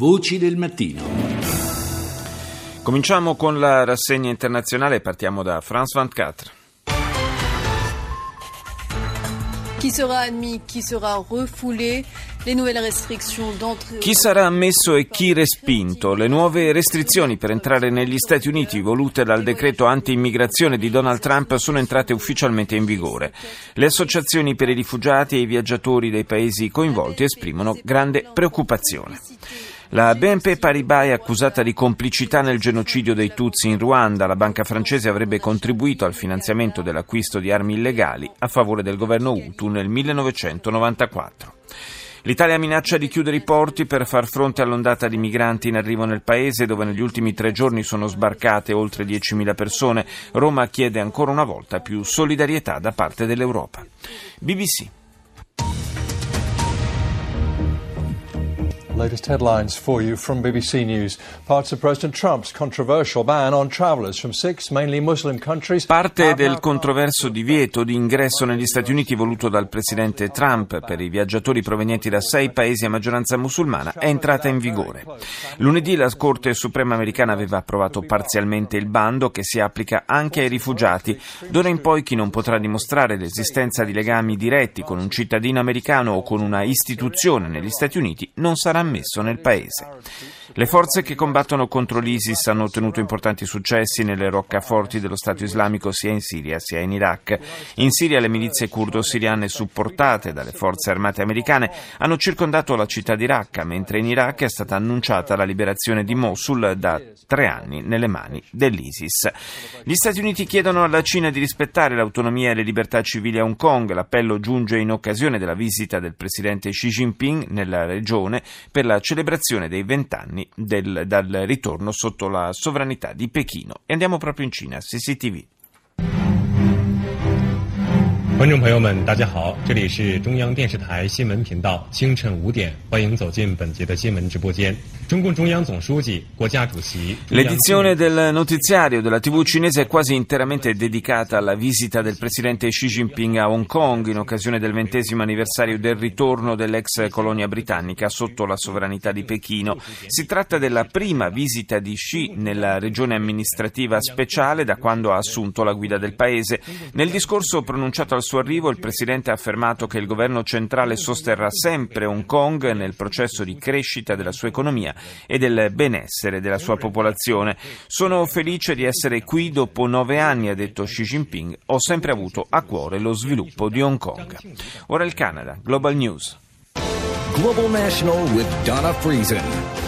Voci del mattino. Cominciamo con la rassegna internazionale e partiamo da France 24. Chi sarà admis, chi sarà refoulé, le nouvelles restrictions d'entrée. Chi sarà ammesso e chi respinto? Le nuove restrizioni per entrare negli Stati Uniti volute dal decreto anti-immigrazione di Donald Trump sono entrate ufficialmente in vigore. Le associazioni per i rifugiati e i viaggiatori dei paesi coinvolti esprimono grande preoccupazione. La BNP Paribas è accusata di complicità nel genocidio dei Tutsi in Ruanda. La banca francese avrebbe contribuito al finanziamento dell'acquisto di armi illegali a favore del governo Hutu nel 1994. L'Italia minaccia di chiudere i porti per far fronte all'ondata di migranti in arrivo nel paese, dove negli ultimi 3 giorni sono sbarcate oltre 10.000 persone. Roma chiede ancora una volta più solidarietà da parte dell'Europa. BBC. Latest headlines for you from BBC News. Parts of President Trump's controversial ban on travelers from 6 mainly Muslim countries. Parte del controverso divieto di ingresso negli Stati Uniti voluto dal presidente Trump per i viaggiatori provenienti da 6 paesi a maggioranza musulmana è entrata in vigore. Lunedì la Corte Suprema americana aveva approvato parzialmente il bando che si applica anche ai rifugiati. D'ora in poi chi non potrà dimostrare l'esistenza di legami diretti con un cittadino americano o con una istituzione negli Stati Uniti non sarà ammesso nel paese. Le forze che combattono contro l'ISIS hanno ottenuto importanti successi nelle roccaforti dello Stato islamico sia in Siria sia in Iraq. In Siria le milizie curdo-siriane supportate dalle forze armate americane hanno circondato la città di Raqqa, mentre in Iraq è stata annunciata la liberazione di Mosul da 3 anni nelle mani dell'ISIS. Gli Stati Uniti chiedono alla Cina di rispettare l'autonomia e le libertà civili a Hong Kong. L'appello giunge in occasione della visita del presidente Xi Jinping nella regione per la celebrazione dei 20 anni dal ritorno sotto la sovranità di Pechino. E andiamo proprio in Cina, CCTV. 观众朋友们，大家好，这里是中央电视台新闻频道，清晨5点，欢迎走进本节的新闻直播间。中共中央总书记、国家主席。 L'edizione del notiziario della TV cinese è quasi interamente dedicata alla visita del presidente Xi Jinping a Hong Kong in occasione del 20° anniversario del ritorno dell'ex colonia britannica sotto la sovranità di Pechino. Si tratta della prima visita di Xi nella regione amministrativa speciale da quando ha assunto la guida del paese. Nel discorso pronunciato al suo arrivo, il presidente ha affermato che il governo centrale sosterrà sempre Hong Kong nel processo di crescita della sua economia e del benessere della sua popolazione. Sono felice di essere qui dopo 9 anni, ha detto Xi Jinping. Ho sempre avuto a cuore lo sviluppo di Hong Kong. Ora il Canada, Global News. Global National with Donna Friesen.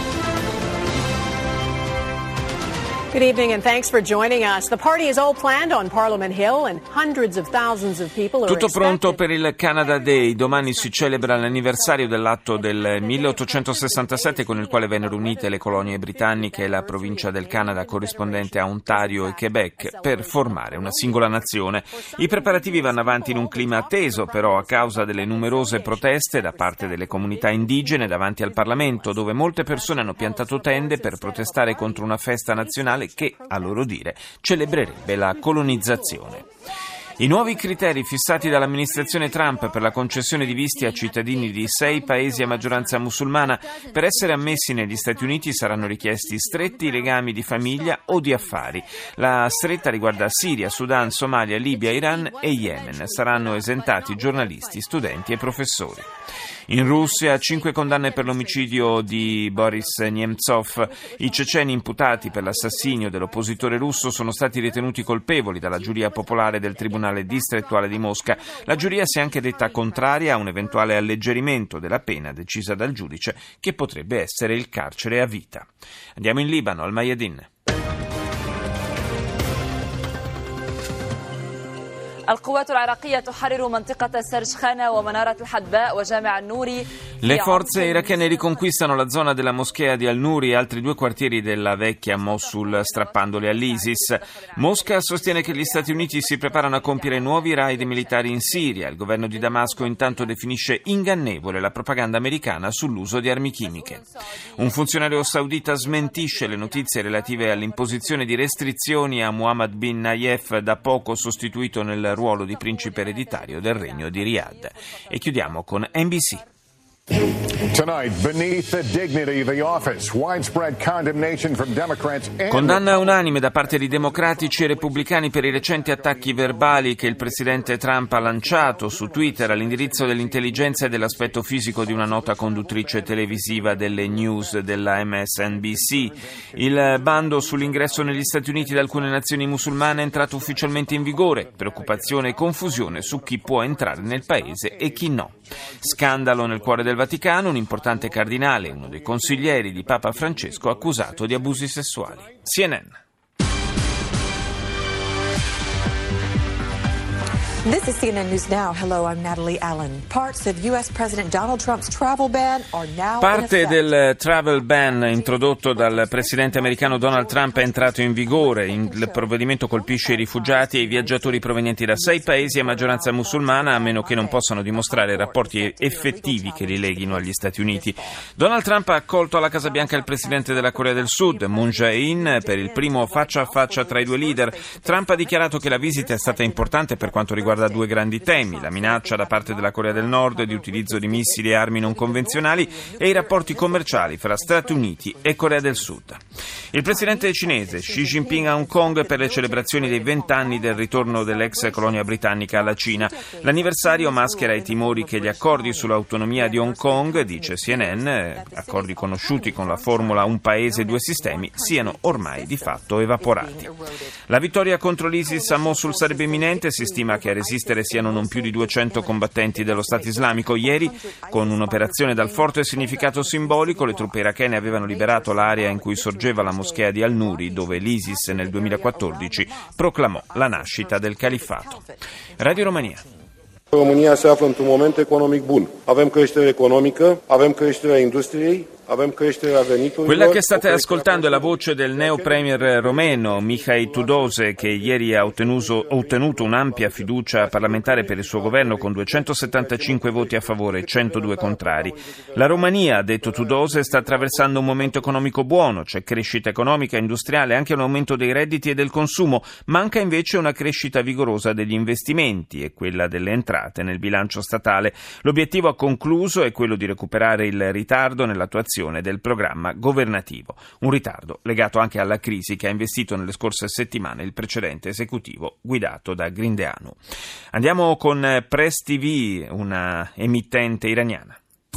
Good evening and thanks for joining us. The party is all planned on Parliament Hill and hundreds of thousands of people are Tutto expected. pronto per il Canada Day. Domani si celebra l'anniversario dell'atto del 1867 con il quale vennero unite le colonie britanniche e la provincia del Canada corrispondente a Ontario e Quebec per formare una singola nazione. I preparativi vanno avanti in un clima teso però a causa delle numerose proteste da parte delle comunità indigene davanti al Parlamento, dove molte persone hanno piantato tende per protestare contro una festa nazionale che, a loro dire, celebrerebbe la colonizzazione. I nuovi criteri fissati dall'amministrazione Trump per la concessione di visti a cittadini di 6 paesi a maggioranza musulmana per essere ammessi negli Stati Uniti saranno richiesti stretti legami di famiglia o di affari. La stretta riguarda Siria, Sudan, Somalia, Libia, Iran e Yemen. Saranno esentati giornalisti, studenti e professori. In Russia 5 condanne per l'omicidio di Boris Nemtsov. I ceceni imputati per l'assassinio dell'oppositore russo sono stati ritenuti colpevoli dalla giuria popolare del Tribunale distrettuale di Mosca. La giuria si è anche detta contraria a un eventuale alleggerimento della pena decisa dal giudice, che potrebbe essere il carcere a vita. Andiamo in Libano, al Mayadin. Le forze irachene riconquistano la zona della moschea di Al-Nuri e altri 2 quartieri della vecchia Mosul, strappandoli all'ISIS. Mosca sostiene che gli Stati Uniti si preparano a compiere nuovi raid militari in Siria. Il governo di Damasco intanto definisce ingannevole la propaganda americana sull'uso di armi chimiche. Un funzionario saudita smentisce le notizie relative all'imposizione di restrizioni a Mohammed bin Nayef, da poco sostituito nel ruolo di principe ereditario del regno di Riyadh. E chiudiamo con NBC. Tonight, beneath the dignity of the office, widespread condemnation from Democrats and Condanna unanime da parte di democratici e repubblicani per i recenti attacchi verbali che il presidente Trump ha lanciato su Twitter all'indirizzo dell'intelligenza e dell'aspetto fisico di una nota conduttrice televisiva delle news della MSNBC. Il bando sull'ingresso negli Stati Uniti da alcune nazioni musulmane è entrato ufficialmente in vigore. Preoccupazione e confusione su chi può entrare nel paese e chi no. Scandalo nel cuore del Vaticano, un importante cardinale, uno dei consiglieri di Papa Francesco, accusato di abusi sessuali. CNN. This is CNN News Now. Hello, I'm Natalie Allen. Parts of U.S. President Donald Trump's travel ban are now Parte del travel ban introdotto dal presidente americano Donald Trump è entrato in vigore. Il provvedimento colpisce i rifugiati e i viaggiatori provenienti da 6 paesi a maggioranza musulmana, a meno che non possano dimostrare rapporti effettivi che li leghino agli Stati Uniti. Donald Trump ha accolto alla Casa Bianca il presidente della Corea del Sud, Moon Jae-in, per il primo faccia a faccia tra i due leader. Trump ha dichiarato che la visita è stata importante per quanto riguarda 2 grandi temi: la minaccia da parte della Corea del Nord di utilizzo di missili e armi non convenzionali e i rapporti commerciali fra Stati Uniti e Corea del Sud. Il presidente cinese Xi Jinping a Hong Kong per le celebrazioni dei 20 anni del ritorno dell'ex colonia britannica alla Cina. L'anniversario maschera i timori che gli accordi sull'autonomia di Hong Kong, dice CNN, accordi conosciuti con la formula un paese, 2 sistemi, siano ormai di fatto evaporati. La vittoria contro l'ISIS a Mosul sarebbe imminente, si stima che a resistere siano non più di 200 combattenti dello Stato islamico. Ieri, con un'operazione dal forte significato simbolico, le truppe irachene avevano liberato l'area in cui sorgeva la moschea di Al-Nuri, dove l'ISIS nel 2014 proclamò la nascita del califfato. Radio Romania. România se află într-un moment economic bun. Avem creștere economică, avem creșterea industriei, avem creșterea veniturilor. Quella che state ascoltando è la voce del neo premier romeno Mihai Tudose, che ieri ha ottenuto un'ampia fiducia parlamentare per il suo governo con 275 voti a favore e 102 contrari. La Romania, ha detto Tudose, sta attraversando un momento economico buono, c'è crescita economica, industriale, anche un aumento dei redditi e del consumo, manca invece una crescita vigorosa degli investimenti e quella delle entrate nel bilancio statale. L'obiettivo, ha concluso, è quello di recuperare il ritardo nell'attuazione del programma governativo, un ritardo legato anche alla crisi che ha investito nelle scorse settimane il precedente esecutivo guidato da Grindeanu. Andiamo con Press TV, una emittente iraniana.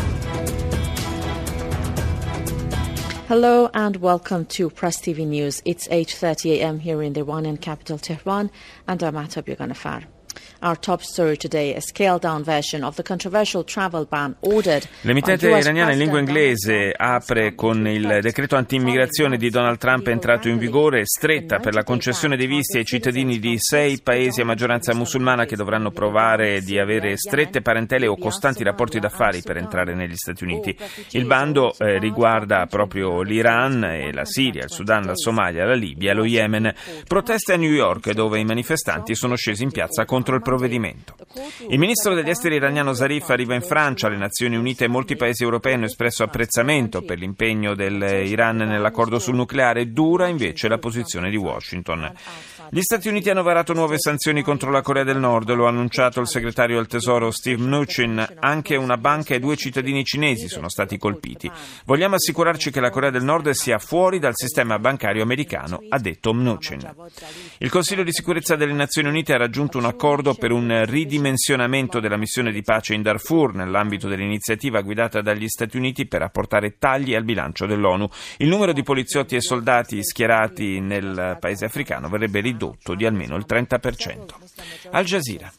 Hello and welcome to Press TV News. It's 8:30 a.m. here in the Iranian capital Tehran, and I'm Atab Yoganafar. Our top story today, a scaled-down version of the controversial travel ban ordered. L'emittente iraniana in lingua inglese apre con il decreto anti-immigrazione di Donald Trump è entrato in vigore, stretta per la concessione dei visti ai cittadini di 6 paesi a maggioranza musulmana che dovranno provare di avere strette parentele o costanti rapporti d'affari per entrare negli Stati Uniti. Il bando riguarda proprio l'Iran e la Siria, il Sudan, la Somalia, la Libia e lo Yemen. Proteste a New York, dove i manifestanti sono scesi in piazza contro il provvedimento. Il ministro degli esteri iraniano Zarif arriva in Francia. Le Nazioni Unite e molti paesi europei hanno espresso apprezzamento per l'impegno dell'Iran nell'accordo sul nucleare. Dura invece la posizione di Washington. Gli Stati Uniti hanno varato nuove sanzioni contro la Corea del Nord, lo ha annunciato il segretario del Tesoro Steve Mnuchin. Anche una banca e 2 cittadini cinesi sono stati colpiti. Vogliamo assicurarci che la Corea del Nord sia fuori dal sistema bancario americano, ha detto Mnuchin. Il Consiglio di sicurezza delle Nazioni Unite ha raggiunto un accordo per un ridimensionamento della missione di pace in Darfur nell'ambito dell'iniziativa guidata dagli Stati Uniti per apportare tagli al bilancio dell'ONU. Il numero di poliziotti e soldati schierati nel paese africano verrebbe ridotto di almeno il 30%. Al Jazeera.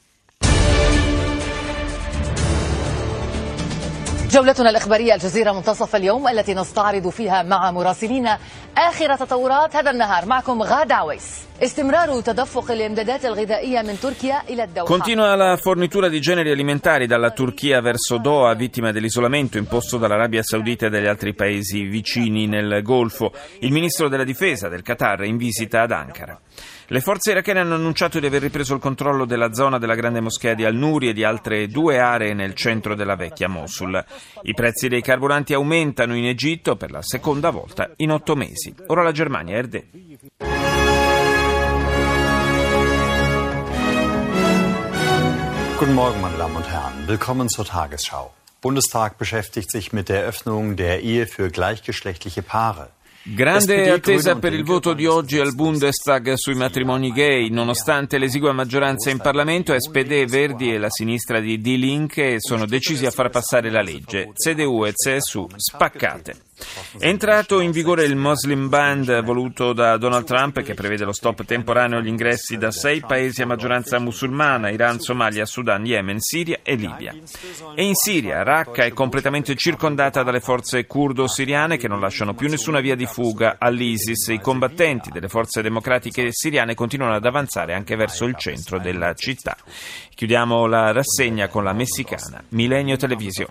جولتنا الإخبارية الجزيرة منتصف اليوم التي نستعرض فيها مع مراسلينا آخر تطورات هذا النهار. معكم غادة عويس. استمرار تدفق الإمدادات الغذائية من تركيا إلى الدوحة. Continua la fornitura di generi alimentari dalla Turchia verso Doha, vittima dell'isolamento imposto dall'Arabia Saudita e dagli altri paesi vicini nel Golfo. Il ministro della difesa del Qatar è in visita ad Ankara. Le forze irachene hanno annunciato di aver ripreso il controllo della zona della grande moschea di Al-Nuri e di altre 2 aree nel centro della vecchia Mosul. I prezzi dei carburanti aumentano in Egitto per la seconda volta in 8 mesi. Ora la Germania, Erde. Guten Morgen, meine Damen und Herren. Willkommen zur Tagesschau. Bundestag beschäftigt sich mit der Eröffnung der Ehe für gleichgeschlechtliche Paare. Grande attesa per il voto di oggi al Bundestag sui matrimoni gay. Nonostante l'esigua maggioranza in Parlamento, SPD, Verdi e la sinistra di Die Linke sono decisi a far passare la legge. CDU e CSU spaccate. È entrato in vigore il Muslim Ban voluto da Donald Trump, che prevede lo stop temporaneo agli ingressi da 6 paesi a maggioranza musulmana: Iran, Somalia, Sudan, Yemen, Siria e Libia. E in Siria, Raqqa è completamente circondata dalle forze curdo-siriane che non lasciano più nessuna via di fuga all'ISIS. I combattenti delle forze democratiche siriane continuano ad avanzare anche verso il centro della città. Chiudiamo la rassegna con la messicana Milenio Television.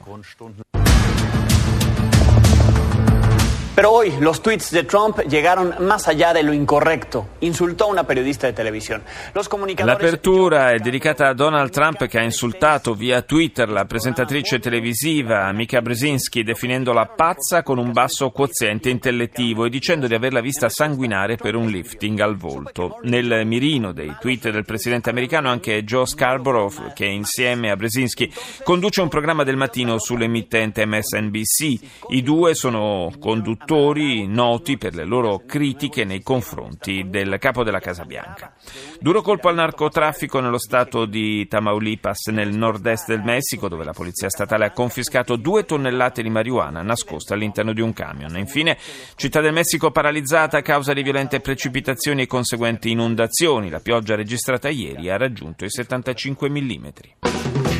Pero hoy los tweets de Trump llegaron más allá de lo incorrecto. Insultó a una periodista de televisión. Los comunicadores... L'apertura è dedicata a Donald Trump, che ha insultato via Twitter la presentatrice televisiva Mika Brzezinski, definendola pazza con un basso quoziente intellettivo e dicendo di averla vista sanguinare per un lifting al volto. Nel mirino dei tweet del presidente americano anche Joe Scarborough, che insieme a Brzezinski conduce un programma del mattino sull'emittente MSNBC. I due sono conduttori noti per le loro critiche nei confronti del capo della Casa Bianca. Duro colpo al narcotraffico nello stato di Tamaulipas, nel nord-est del Messico, dove la polizia statale ha confiscato 2 tonnellate di marijuana nascosta all'interno di un camion. Infine, Città del Messico paralizzata a causa di violente precipitazioni e conseguenti inondazioni. La pioggia registrata ieri ha raggiunto i 75 millimetri.